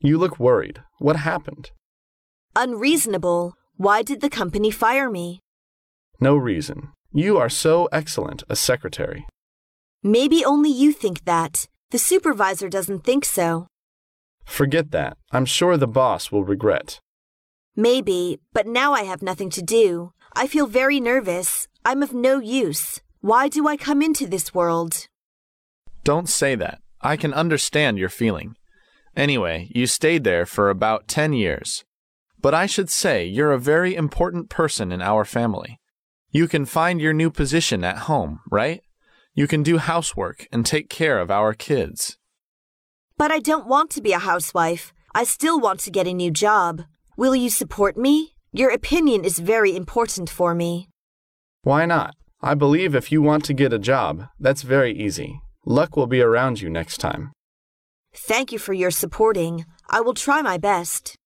You look worried. What happened? Unreasonable. Why did the company fire me? No reason. You are so excellent a secretary. Maybe only you think that. The supervisor doesn't think so. Forget that. I'm sure the boss will regret. Maybe, but now I have nothing to do. I feel very nervous. I'm of no use. Why do I come into this world? Don't say that. I can understand your feeling. Anyway, you stayed there for about 10 years. But I should say you're a very important person in our family. You can find your new position at home, right? You can do housework and take care of our kids. But I don't want to be a housewife. I still want to get a new job. Will you support me? Your opinion is very important for me. Why not? I believe if you want to get a job, that's very easy. Luck will be around you next time. Thank you for your supporting. I will try my best.